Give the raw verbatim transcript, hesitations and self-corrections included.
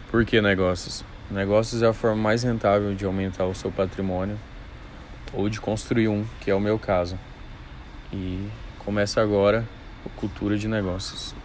Por que negócios? Negócios é a forma mais rentável de aumentar o seu patrimônio ou de construir um, que é o meu caso. E começa agora o Cultura de Negócios.